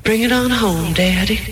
Bring it on home, Daddy.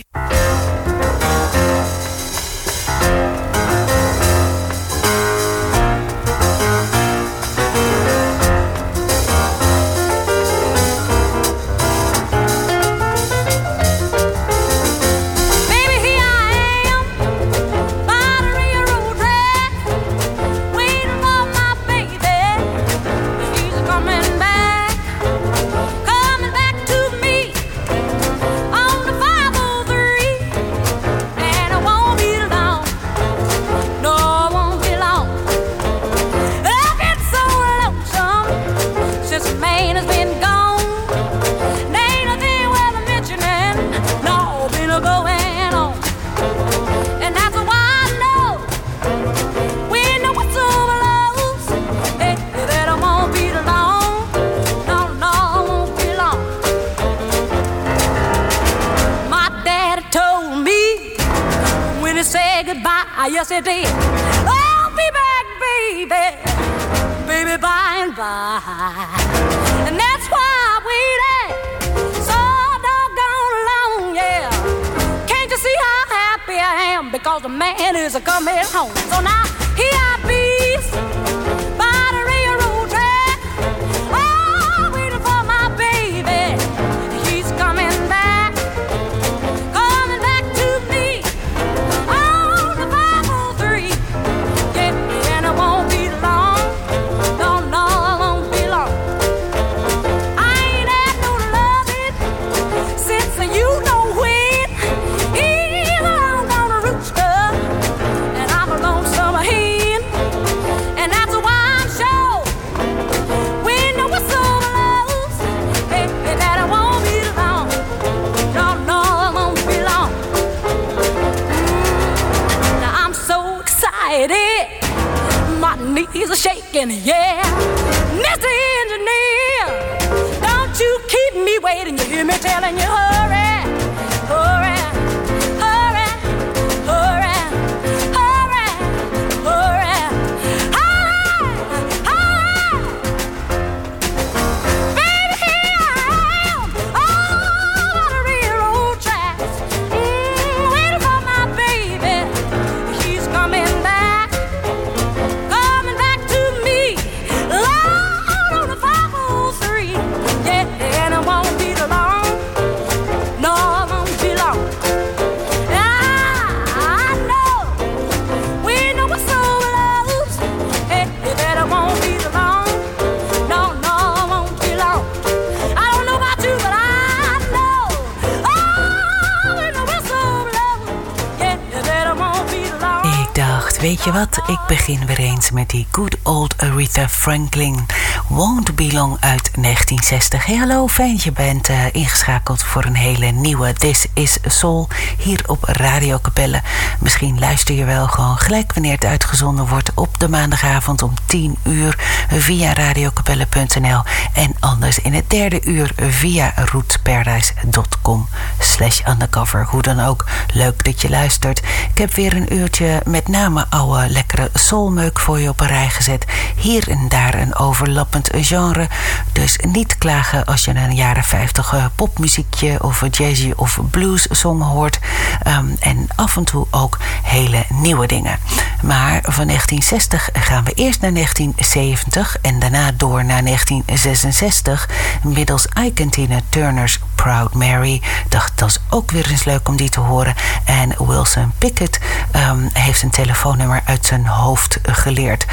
Yes, it did. I'll be back, baby, baby, by and by. And that's why I waited so doggone long, yeah. Can't you see how happy I am? Because the man is coming home. So now here I be by the railroad track. Oh, waiting for my baby. He's coming back. Coming back to me. My knees are shaking, yeah. Mr. Engineer, don't you keep me waiting. You hear me telling you, hurry, hurry, hurry, hurry, hurry, hurry, hurry, hurry. Baby, here I am, all on the railroad tracks, waiting for my baby. He's coming back. Weet je wat? Ik begin weer eens met die good old Aretha Franklin. Won't Be Long uit 1960. Hey, hallo, fijn dat je bent ingeschakeld voor een hele nieuwe This is Soul hier op Radio Capelle. Misschien luister je wel gewoon gelijk wanneer het uitgezonden wordt op de maandagavond om 10 uur via radiocapelle.nl en anders in het derde uur via rootsparadise.com/undercover. Hoe dan ook, leuk dat je luistert. Ik heb weer een uurtje met name oude lekkere soulmeuk voor je op een rij gezet. Hier en daar een overlappend genre. Dus niet klagen als je een jaren 50 popmuziekje of jazzy of blues song hoort. En af en toe ook hele nieuwe dingen. Maar van 1960 gaan we eerst naar 1970 en daarna door naar 1966 middels Ike Tina Turner's Proud Mary. Dacht, dat is ook weer eens leuk om die te horen. En Wilson Pickett heeft een telefoonnummer uit zijn hoofd geleerd.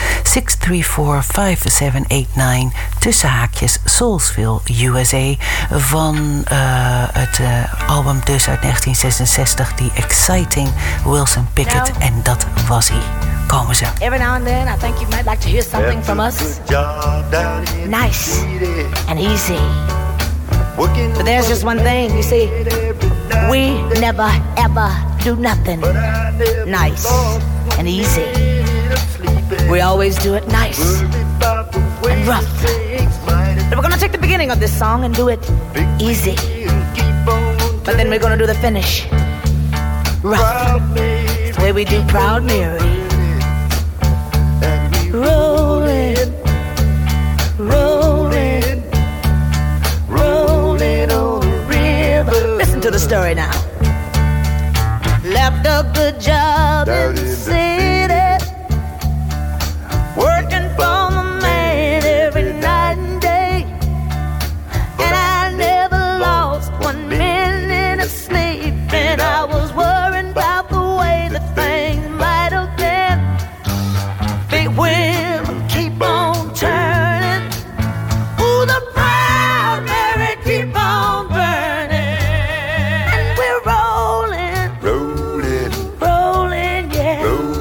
634-5789 tussen haakjes Soulsville, USA. Van het album dus uit 1966, die Exciting Wilson Pickett. En dat was hij. Komen ze. Every now and then I think you might like to hear something from us. Nice and easy. But there's just one thing, you see. We never ever do nothing nice and easy. We always do it nice and rough. But we're gonna take the beginning of this song and do it easy. But then we're gonna do the finish rough. It's the way we do Proud Mary. Rolling, rolling, rolling on the river. Listen to the story now. Left a good job in the city, working for the man every night and day, and I never lost 1 minute of sleep, and I was worried about the way that things might have been. Big wheel keep on turning, ooh, the proud Mary keep on burning, and we're rolling, rolling, rolling, yeah. Rolling.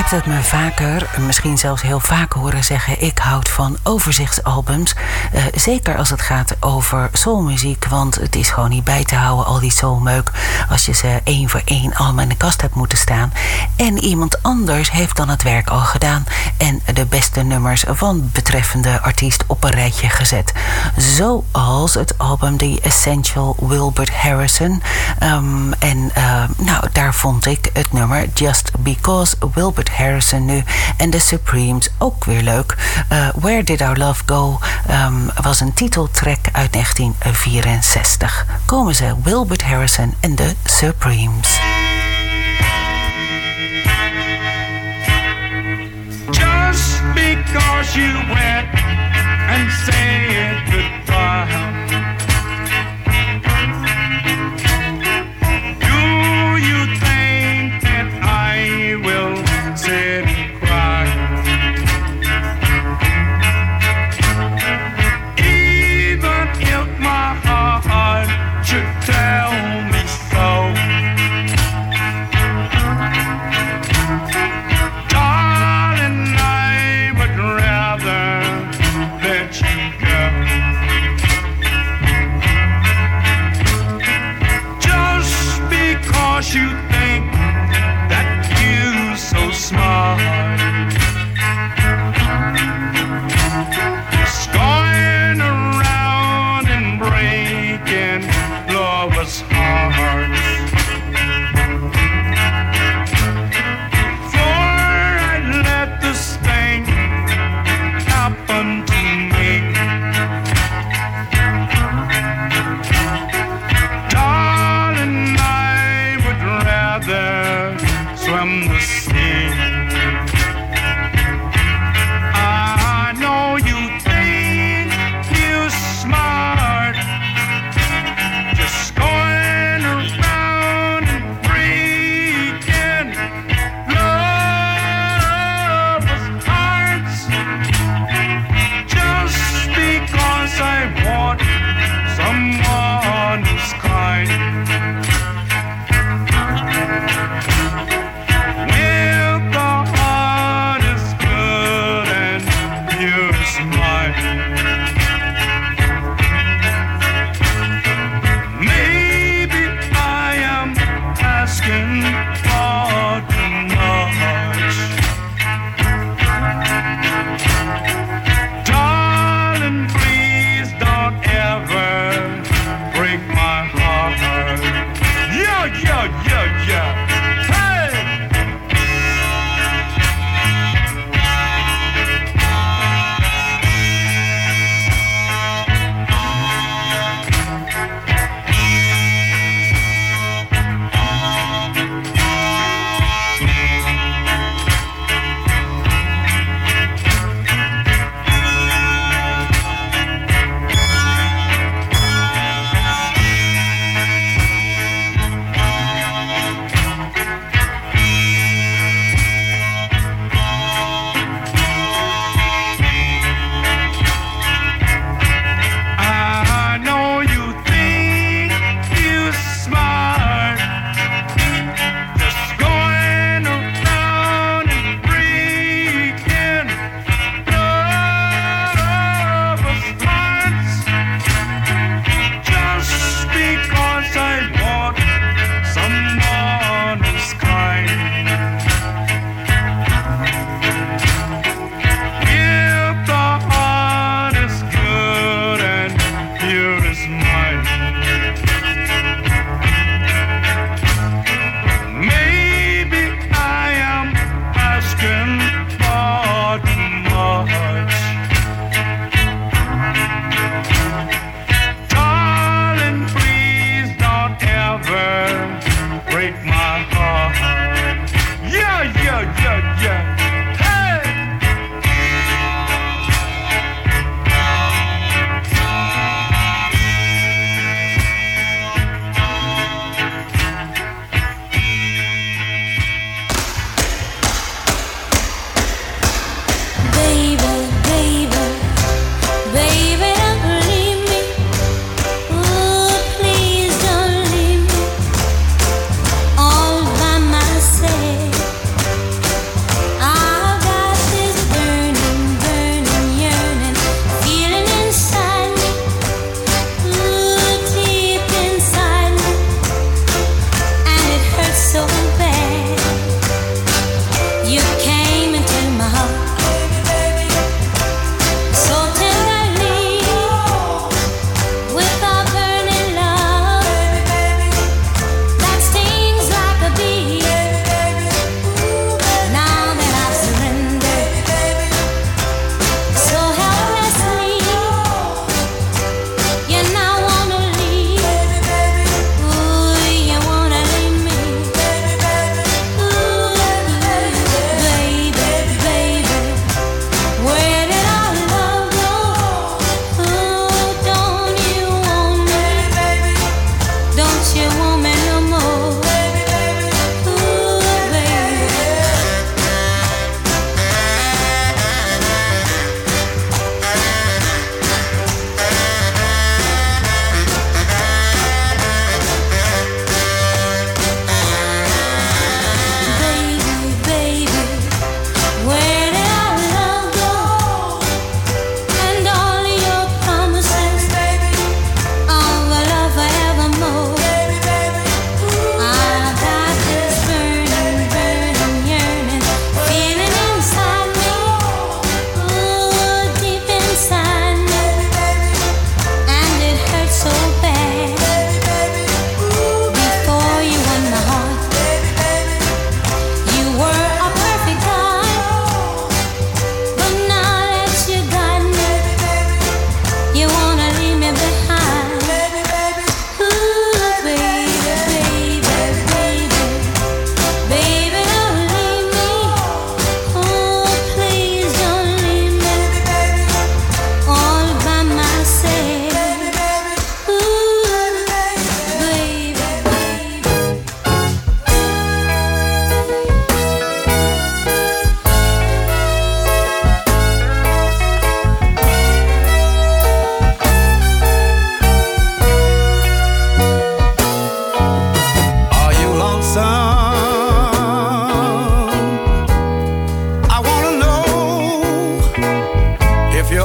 hebt het me vaker, misschien zelfs heel vaak horen zeggen... ik houd van overzichtsalbums. Zeker als het gaat over soulmuziek. Want het is gewoon niet bij te houden, al die soulmeuk... als je ze één voor één allemaal in de kast hebt moeten staan. En iemand anders heeft dan het werk al gedaan... en de beste nummers van betreffende artiest op een rijtje gezet. Zoals het album The Essential Wilbert Harrison. Daar vond ik het nummer Just Because Wilbert Harrison nu en The Supremes ook weer leuk. Where Did Our Love Go was een titeltrack uit 1964. Komen ze, Wilbert Harrison en The Supremes. Just because you went and said goodbye, sit and cry. Even if my heart should tell me so, darling, I would rather let you go.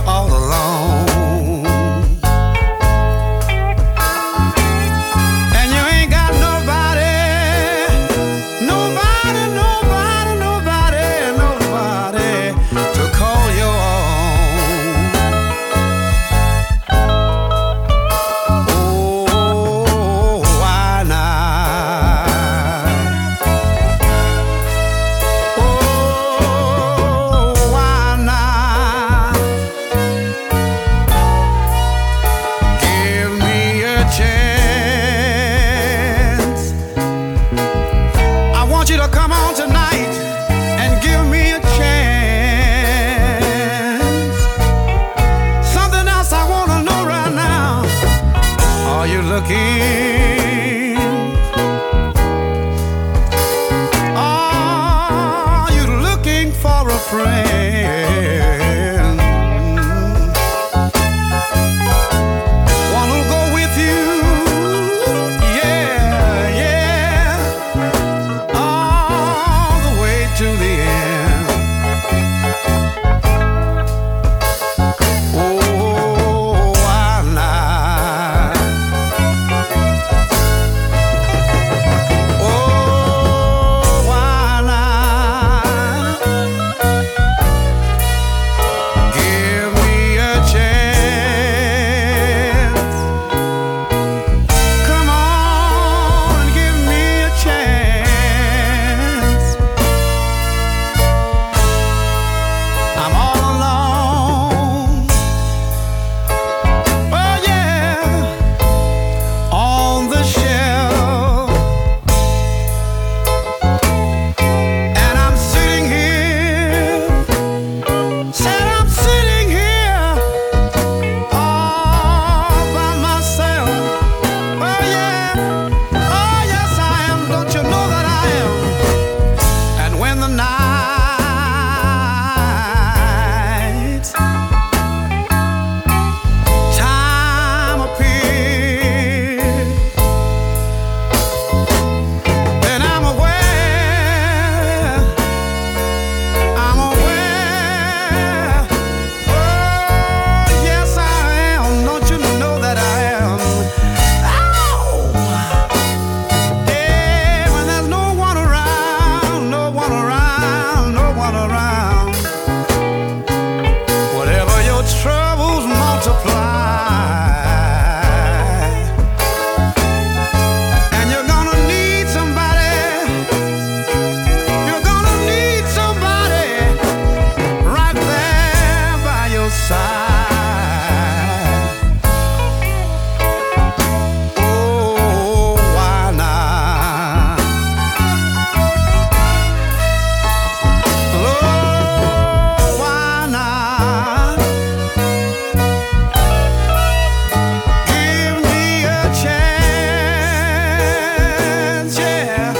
you're all alone. And you ain't got nobody, nobody, nobody, nobody, nobody to call your own. Oh, why not? Oh, why not? Give me a chance. I want you to come on tonight and give me a chance. Something else I want to know right now. Are you looking? Are you looking for a friend? One who'll go with you? Yeah, yeah. All the way to the end. Oh, why not? Oh, why not? Give me a chance. Come on and give me a chance. I'm all alone. Oh yeah, on the shelf. And I'm sitting here, said I'm sitting here all by myself. Oh yeah, oh yes I am, don't you know that I am? And when the night time appears, then I'm aware, oh yes I am, don't you know that I am? Oh, yeah, when there's no one around, no one around, no one around. Whatever your troubles multiply, and you're gonna need somebody. You're gonna need somebody right there by your side. Oh, why not? Oh, why not? Give me a chance, yeah.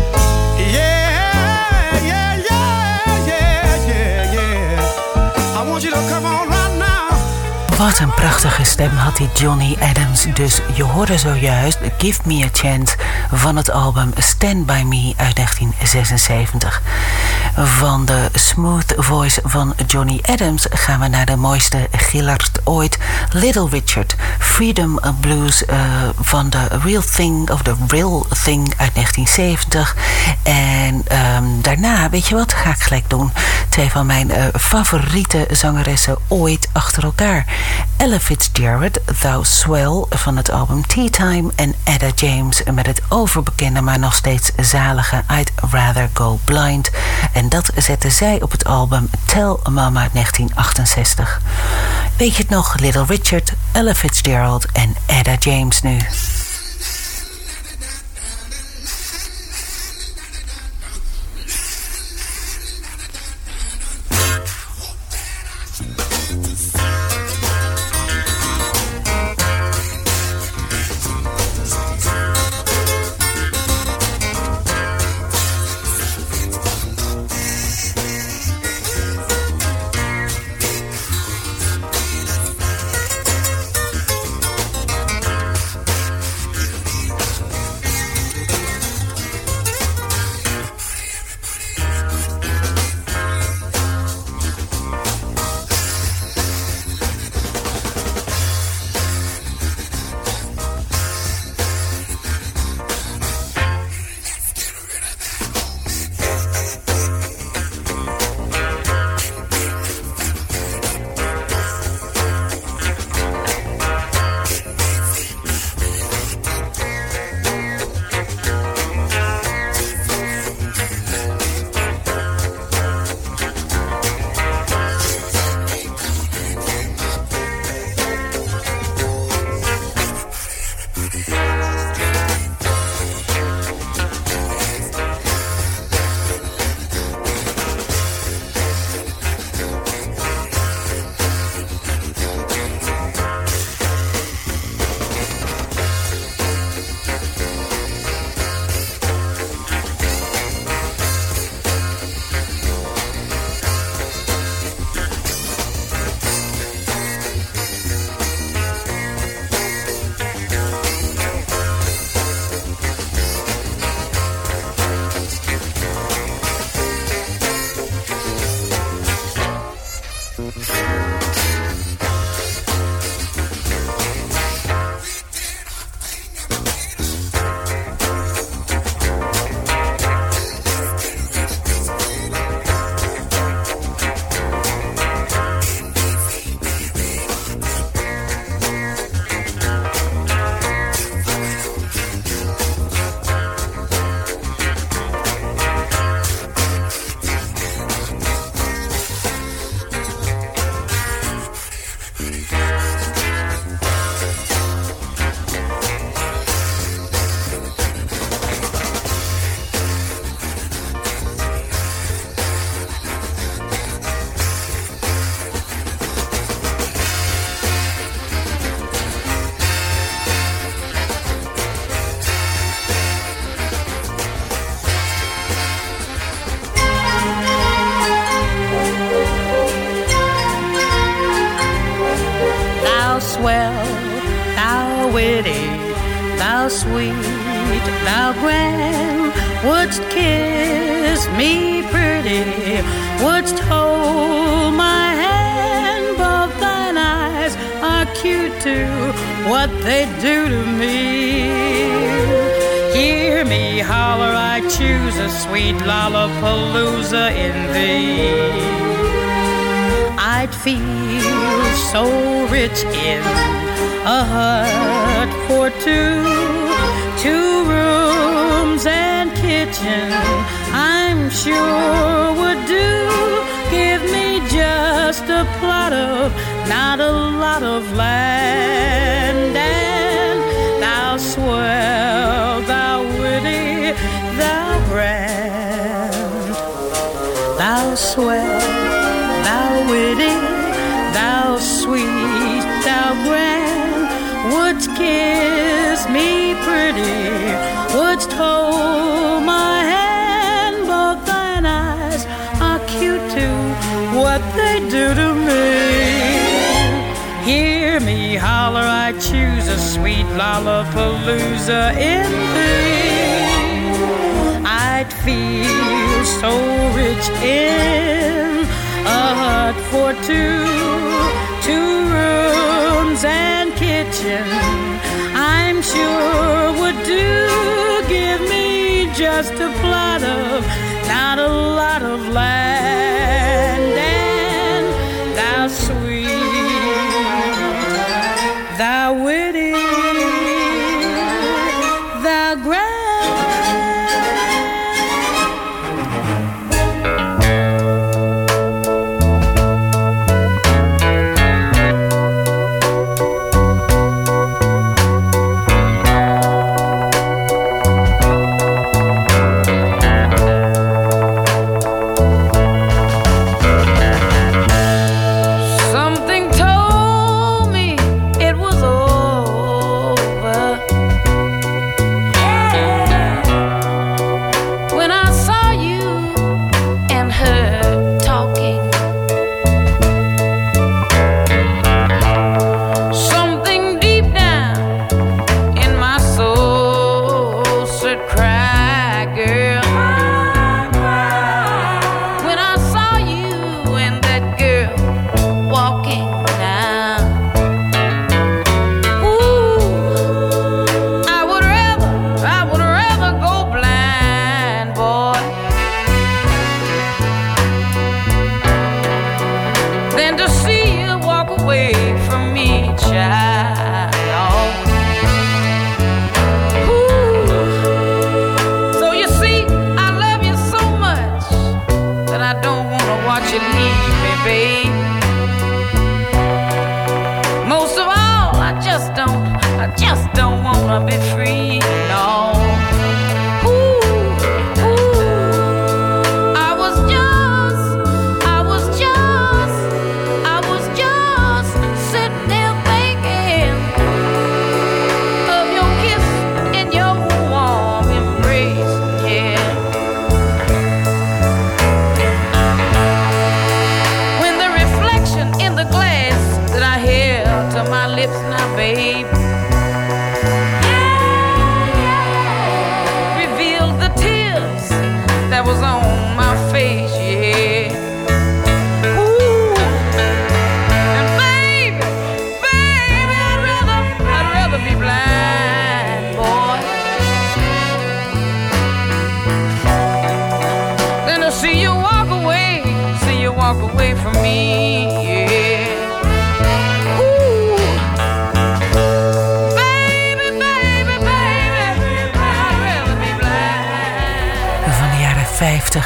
Yeah, yeah, yeah, yeah, yeah, yeah. I want you to come on right now. Wat een prachtige stem had die Johnny Adams. Dus je hoorde zojuist Give Me a Chance van het album Stand By Me uit 1976. Van de smooth voice van Johnny Adams gaan we naar de mooiste gillard ooit. Little Richard, Freedom Blues van The Real Thing of The Real Thing uit 1970. En daarna, weet je wat, ga ik gelijk doen. Twee van mijn favoriete zangeressen ooit achter elkaar. Ella Fitzgerald, Thou Swell van het album Tea Time. En Etta James met het overbekende, maar nog steeds zalige I'd Rather Go Blind. En dat zette zij op het album Tell Mama uit 1968. Weet je het nog? Little Richard, Ella Fitzgerald en Etta James nu. Swell, thou witty, thou sweet, thou grand, wouldst kiss me pretty, wouldst hold my hand, both thine eyes are cute too, what they do to me. Hear me holler, I choose a sweet Lollapalooza in thee. I'd feel so rich in a hut for two rooms and kitchen, I'm sure would do. Give me just a plot of, not a lot of land, and thou swell, thou witty, thou grand, thou swell, thou witty, thou sweet, thou grand, wouldst kiss me pretty, wouldst hold my hand, both thine eyes are cute too, what they do to me. Hear me holler, I choose a sweet Lollapalooza in thee. I'd feel so rich in a hut for two rooms and kitchen, I'm sure would do. Give me just a plot of, not a lot of land, and thou sweet, thou witty, thou grand. lips now, babe. Yeah.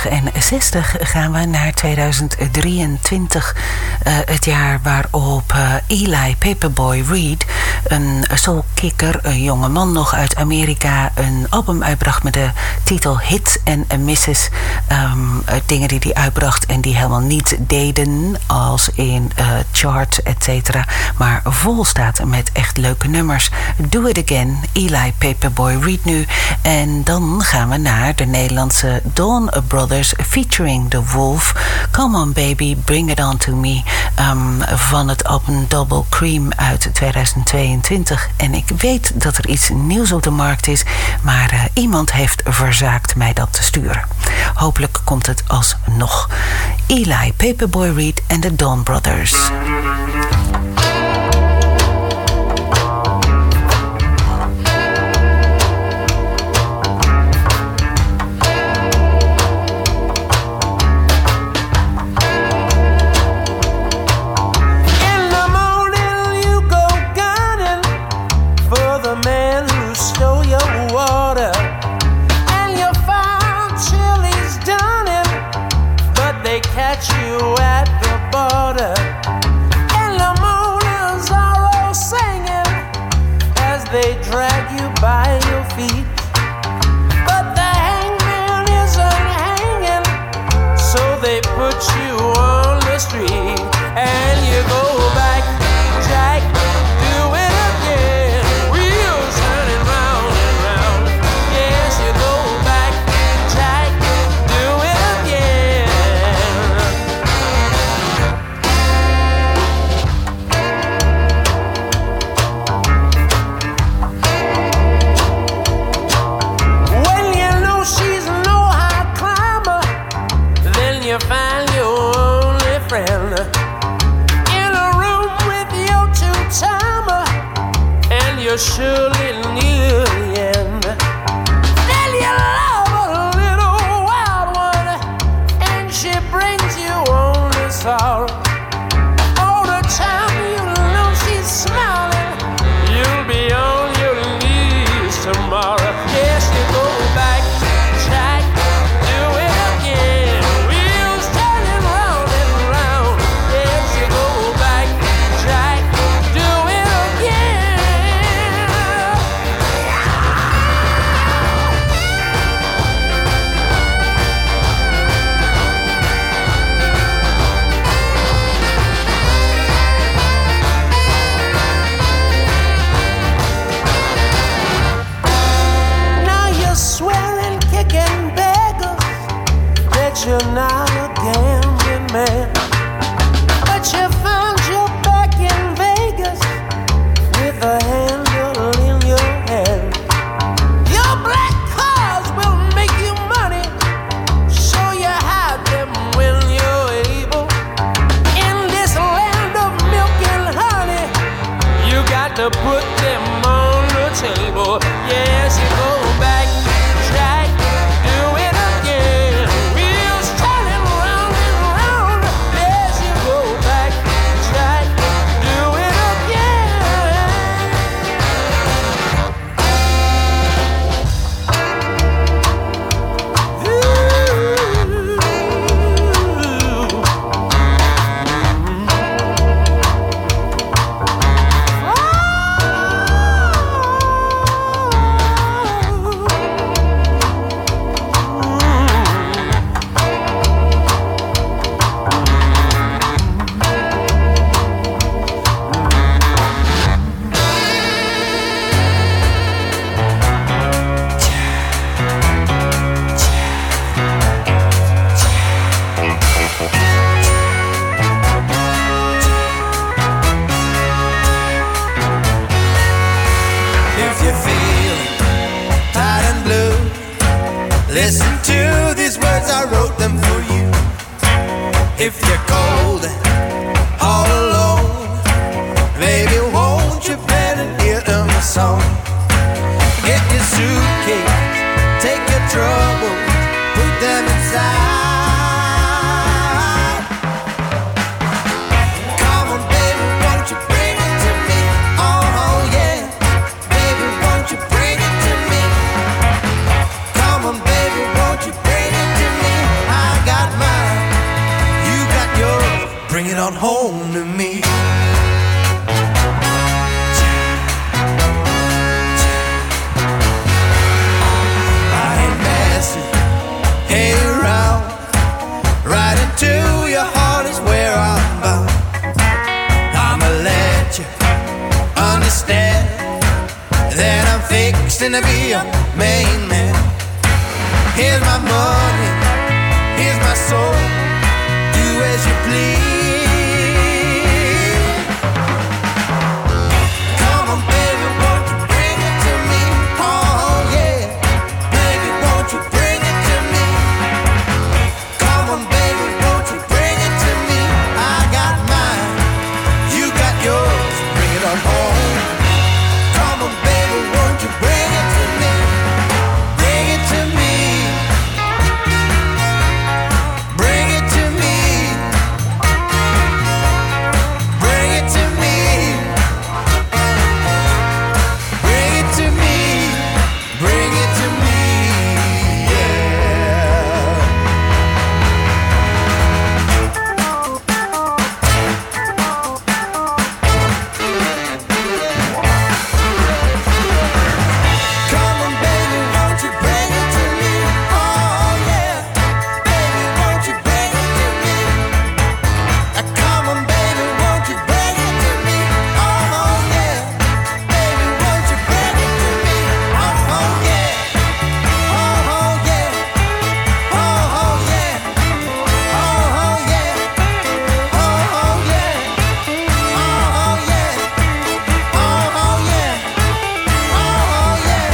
50 en 60 gaan we naar 2023. Het jaar waarop Eli Paperboy Reed, een soulkicker, een jonge man nog uit Amerika, een album uitbracht met de titel Hits and Misses. Dingen die hij uitbracht en die helemaal niet deden als in chart, etc. Maar vol staat met echt leuke nummers. Do It Again, Eli Paperboy Reed nu. En dan gaan we naar de Nederlandse Dawn Brothers featuring The Wolf. Come On Baby, Bring It On To Me. Van het album Double Cream uit 2022. En ik weet dat er iets nieuws op de markt is, maar iemand heeft verzaakt mij dat te sturen. Hopelijk komt het alsnog. Eli Paperboy Reed en de Dawn Brothers. Surely near the end. Then you love a little wild one, and she brings you only sorrow. All the time you know she's smiling, you'll be on your knees tomorrow. Yes, you go back, Jack, do it again. Wheels turning round and round. Yes, you go back, Jack, do it again. You're not a gambling man, but you found your back in Vegas with a handle in your hand. Your black cars will make you money, so you hide them when you're able. In this land of milk and honey, you got to put them on the table. Yes, you go back, Jack, do it again. Oh! bring it on home to me. I ain't messing, hey around, right into your heart is where I'm bound. I'ma let you understand that I'm fixing to be your main man. Here's my money, here's my soul, do as you please. Come on baby, won't you bring it to me? Oh yeah, baby, won't you bring it to me? Come on baby, won't you bring it to me? I got mine, you got yours, bring it on home. Come on baby, won't you bring it to me? Bring it to me. Bring it to me. Bring it to me. Bring it to me. Bring it to me. Yeah. Come on, baby, won't you bring it to me? Oh yeah, baby, won't you bring it to me? Come on, baby, won't you bring it to me? Oh yeah, baby, won't you bring it to me? Oh yeah, oh yeah, oh yeah, oh yeah, oh yeah, oh yeah, oh yeah, oh yeah.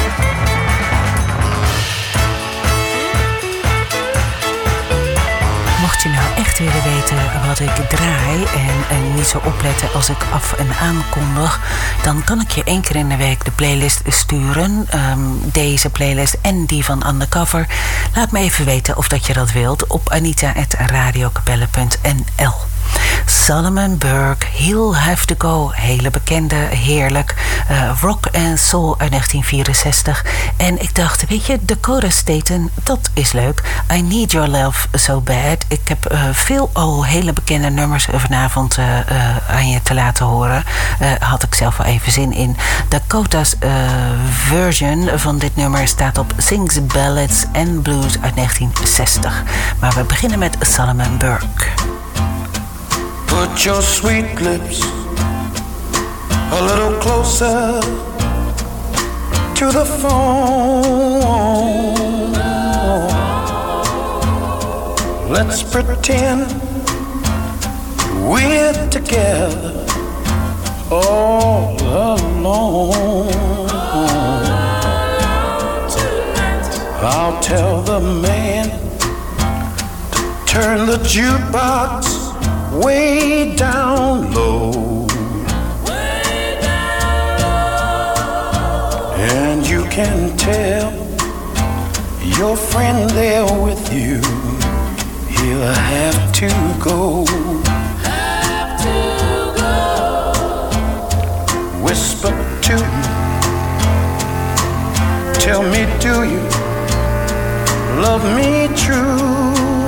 Mocht je nou echt willen weten wat ik draai en niet zo opletten als ik af en aankondig, dan kan ik je 1 keer in de week de playlist sturen. Deze playlist en die van Undercover. Laat me even weten of dat je dat wilt op anita@radiokapelle.nl. Solomon Burke, He'll Have to Go, hele bekende, heerlijk rock en soul uit 1964. En ik dacht, weet je, Dakota Staton, dat is leuk. I Need Your Love So Bad. Ik heb veel al hele bekende nummers vanavond aan je te laten horen. Had ik zelf wel even zin in. Dakota's version van dit nummer staat op Sings Ballads and Blues uit 1960. Maar we beginnen met Solomon Burke. Put your sweet lips a little closer to the phone. Let's pretend we're together all alone. I'll tell the man to turn the jukebox way down low. And you can tell your friend there with you, he'll have to go. Whisper to me, tell me, do you love me true?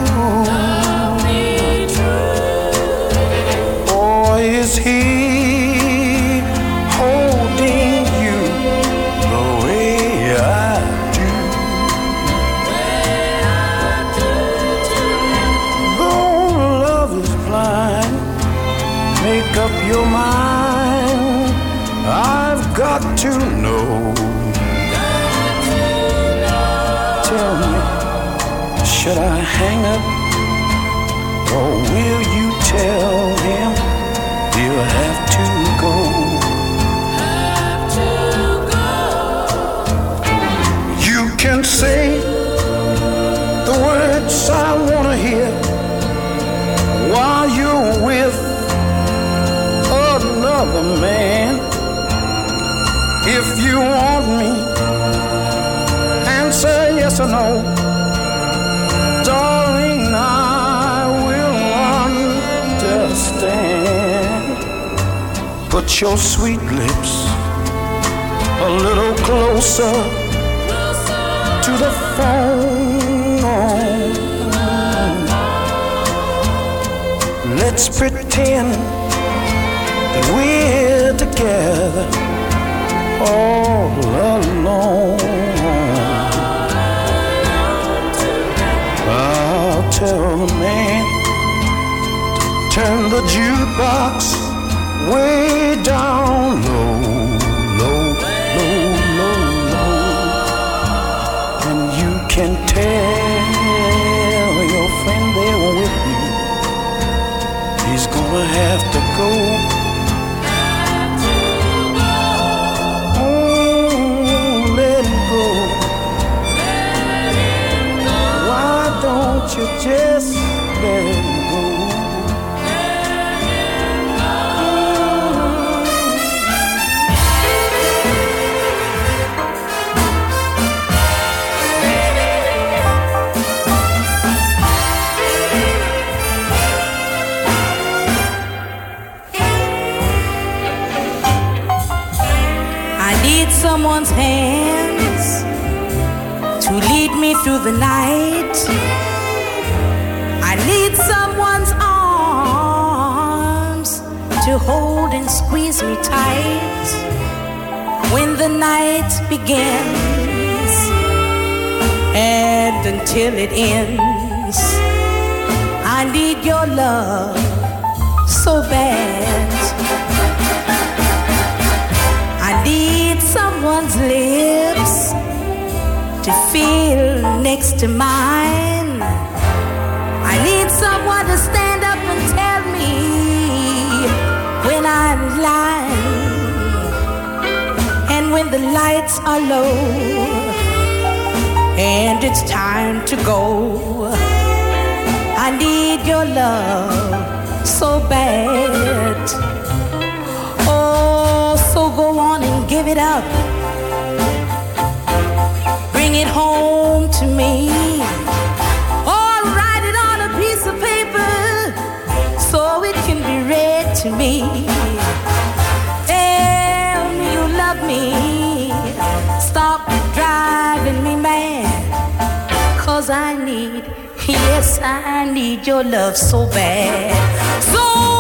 Or is he holding you the way I do? Though love is blind, make up your mind. I've got to know. Tell me, should I hang up, or will you tell him he'll have to go? You can say the words I wanna hear while you're with another man. If you want me, answer yes or no. Darling, I will understand. Put your sweet lips a little closer to the phone. Let let's pretend that we're together all alone. I'll tell the man to turn the jukebox way down low, low, low, low, low. And you can tell your friend there with you, he's gonna have to go. Let him go. Why don't you just let him go? Someone's hands to lead me through the night. I need someone's arms to hold and squeeze me tight when the night begins and until it ends. I need your love so bad. I need someone's lips to feel next to mine. I need someone to stand up and tell me when I'm lying and when the lights are low and it's time to go. I need your love so bad. So go on and give it up. Bring it home to me. Or write it on a piece of paper so it can be read to me. Tell me you love me. Stop driving me mad. 'Cause I need, yes, I need your love so bad. So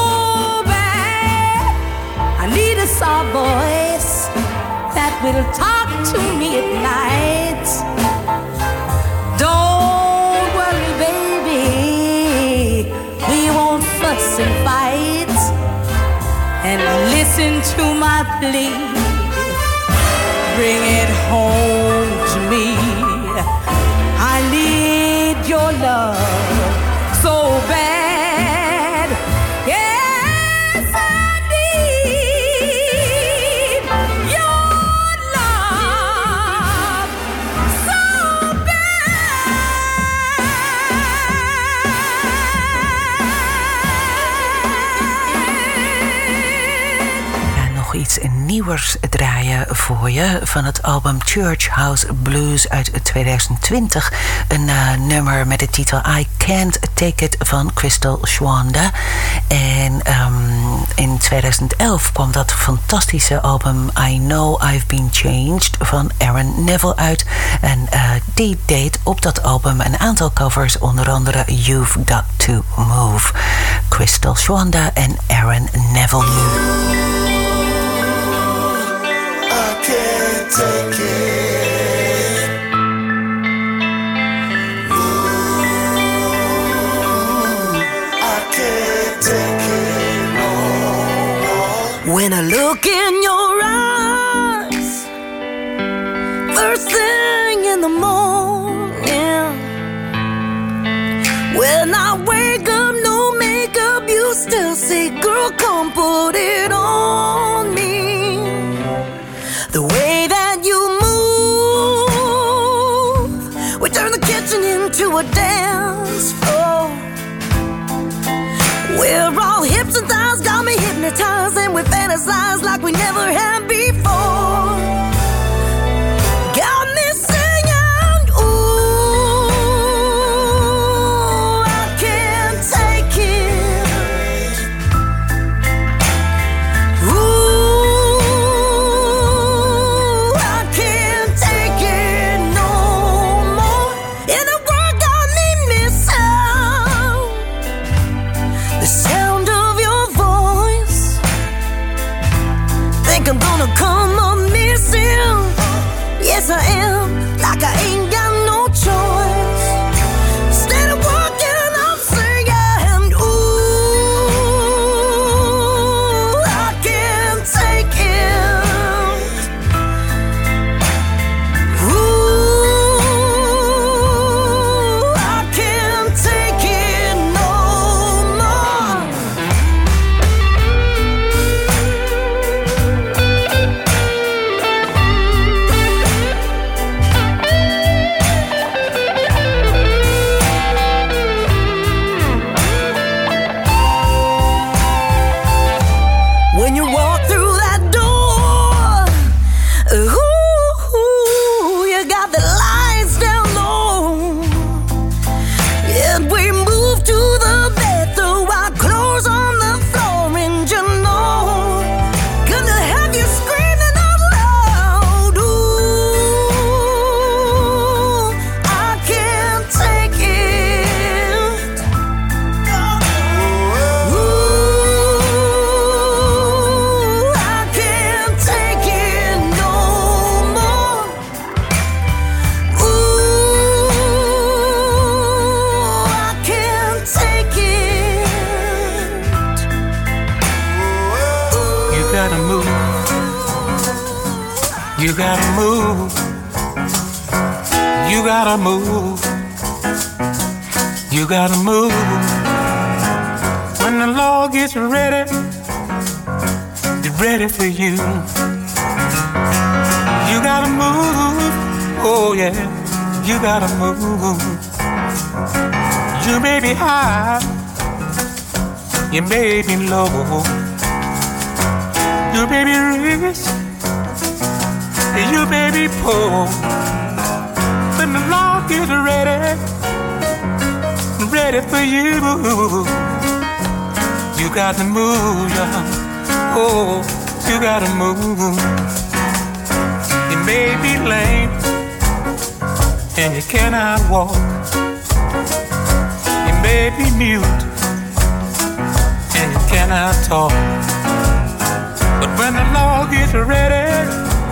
I need a soft voice that will talk to me at night. Don't worry, baby, we won't fuss and fight. And listen to my plea, bring it home to me. I need your love so bad. Yes, I need your love so bad. Ja, nog iets nieuwers draaien voor je van het album Church House Blues uit 2020. Een nummer met de titel I Can't Take It van Crystal Schwanda. En in 2011 kwam dat fantastische album I Know I've Been Changed van Aaron Neville uit. En die deed op dat album een aantal covers, onder andere You've Got to Move. Crystal Schwanda en Aaron Neville nu. Can't take it. Ooh, I can't take it no more. When I look in your eyes, first thing in the morning, when I wake up, no makeup, you still say, girl, come put it on me. The way that you move, we turn the kitchen into a dance floor. We're all hips and thighs, got me hypnotized, and we fantasize like we never had before. Got me singing, ooh, I can't take it. You gotta move. You gotta move. You gotta move. When the Lord gets ready, He's ready for you. You gotta move. Oh yeah, you gotta move. You may be high, you may be low, you may be rich, you may be poor. When the Lord gets ready, ready for you, you got to move, yeah. Oh, you got to move. You may be lame and you cannot walk. You may be mute and you cannot talk. But when the Lord gets ready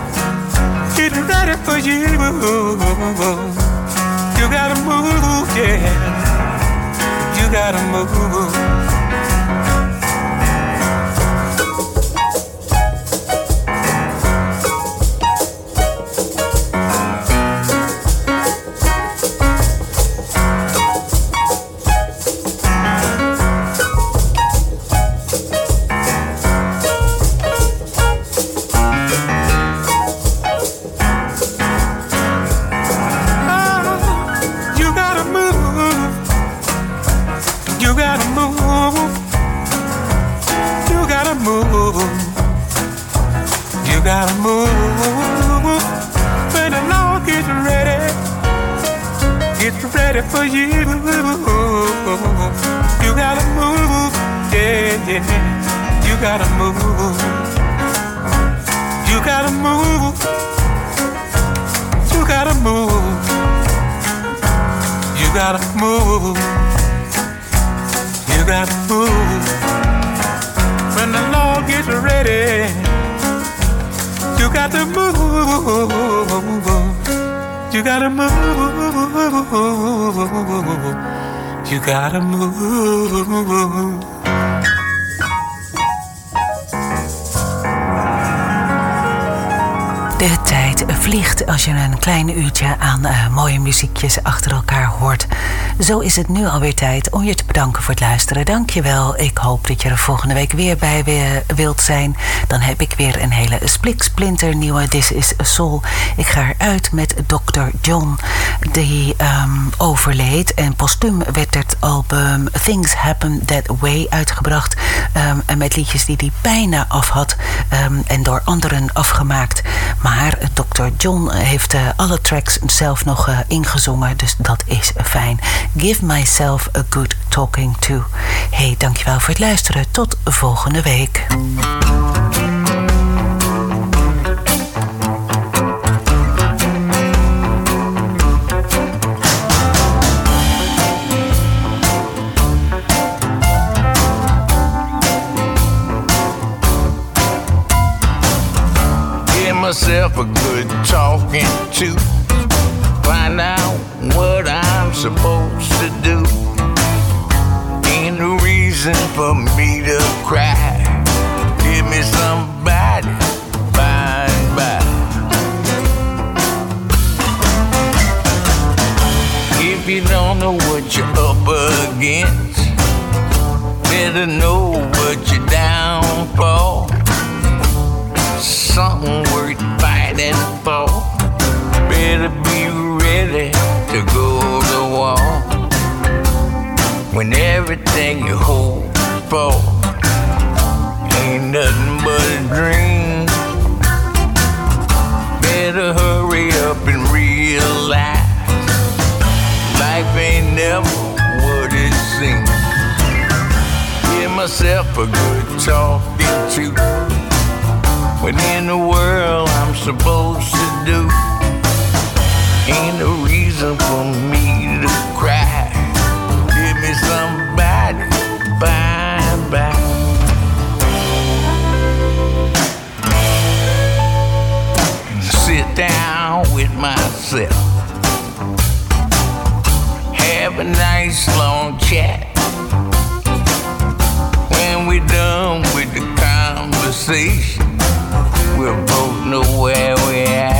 for you, you gotta move, yeah. You gotta move. For you, you gotta move, yeah, yeah. You gotta move, you gotta move, you gotta move, you gotta move, you gotta move. When the Lord gets ready, you got to move. You gotta move. You gotta move. De tijd vliegt als je een klein uurtje aan mooie muziekjes achter elkaar hoort. Zo is het nu alweer tijd om je te bedanken voor het luisteren. Dank je wel. Ik hoop dat je er volgende week weer bij wilt zijn. Dan heb ik weer een hele spliksplinter nieuwe This is Soul. Ik ga eruit met Dr. John, die overleed. En postuum werd het album Things Happen That Way uitgebracht. En met liedjes die hij bijna af had. En door anderen afgemaakt. Maar Dr. John heeft alle tracks zelf nog ingezongen. Dus dat is fijn. Give myself a good talking to. Hey, dankjewel voor het luisteren. Tot volgende week. Myself a good talking to, find out what I'm supposed to do. Ain't no reason for me to cry. Give me somebody by and by. If you don't know what you're up against, better know what you're down for. Something worth fighting for. Better be ready to go to war. When everything you hope for ain't nothing but a dream. Better hurry up and realize life ain't never what it seems. Give myself a good talking to. What in the world I'm supposed to do? Ain't no reason for me to cry. Give me somebody by and by. Sit down with myself, have a nice long chat. When we're done with the conversation, we'll both know where we're at.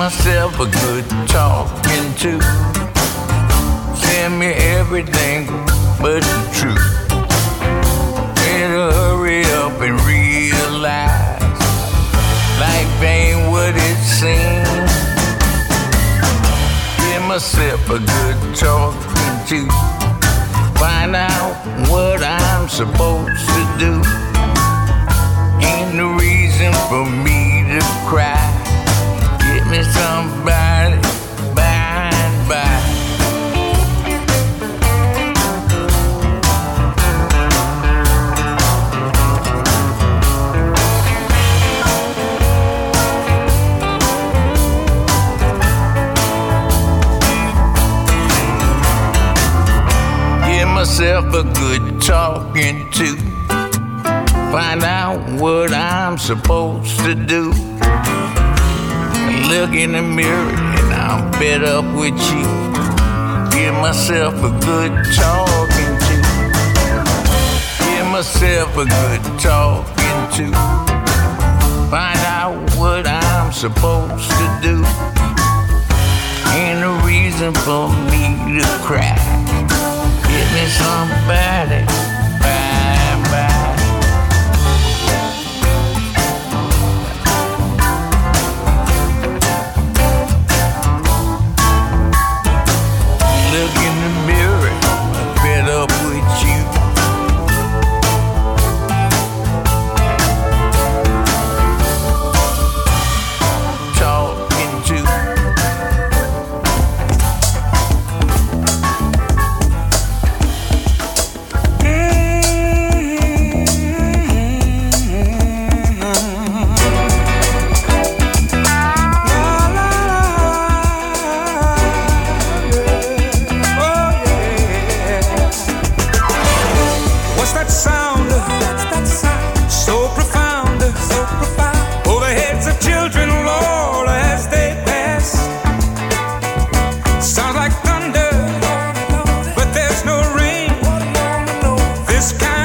myself a good talking to. Send me everything but the truth. Better hurry up and realize life ain't what it seems. Give myself a good talking to. Find out what I'm supposed to do. Ain't no reason for me to cry. Get me somebody by and by. Give myself a good talking to. Find out what I'm supposed to do. Look in the mirror and I'm fed up with you. Give myself a good talking to. Give myself a good talking to. Find out what I'm supposed to do. Ain't no reason for me to cry. Get me somebody by and by. Look in the mirror, I'm fed up with you. Talking to. This kind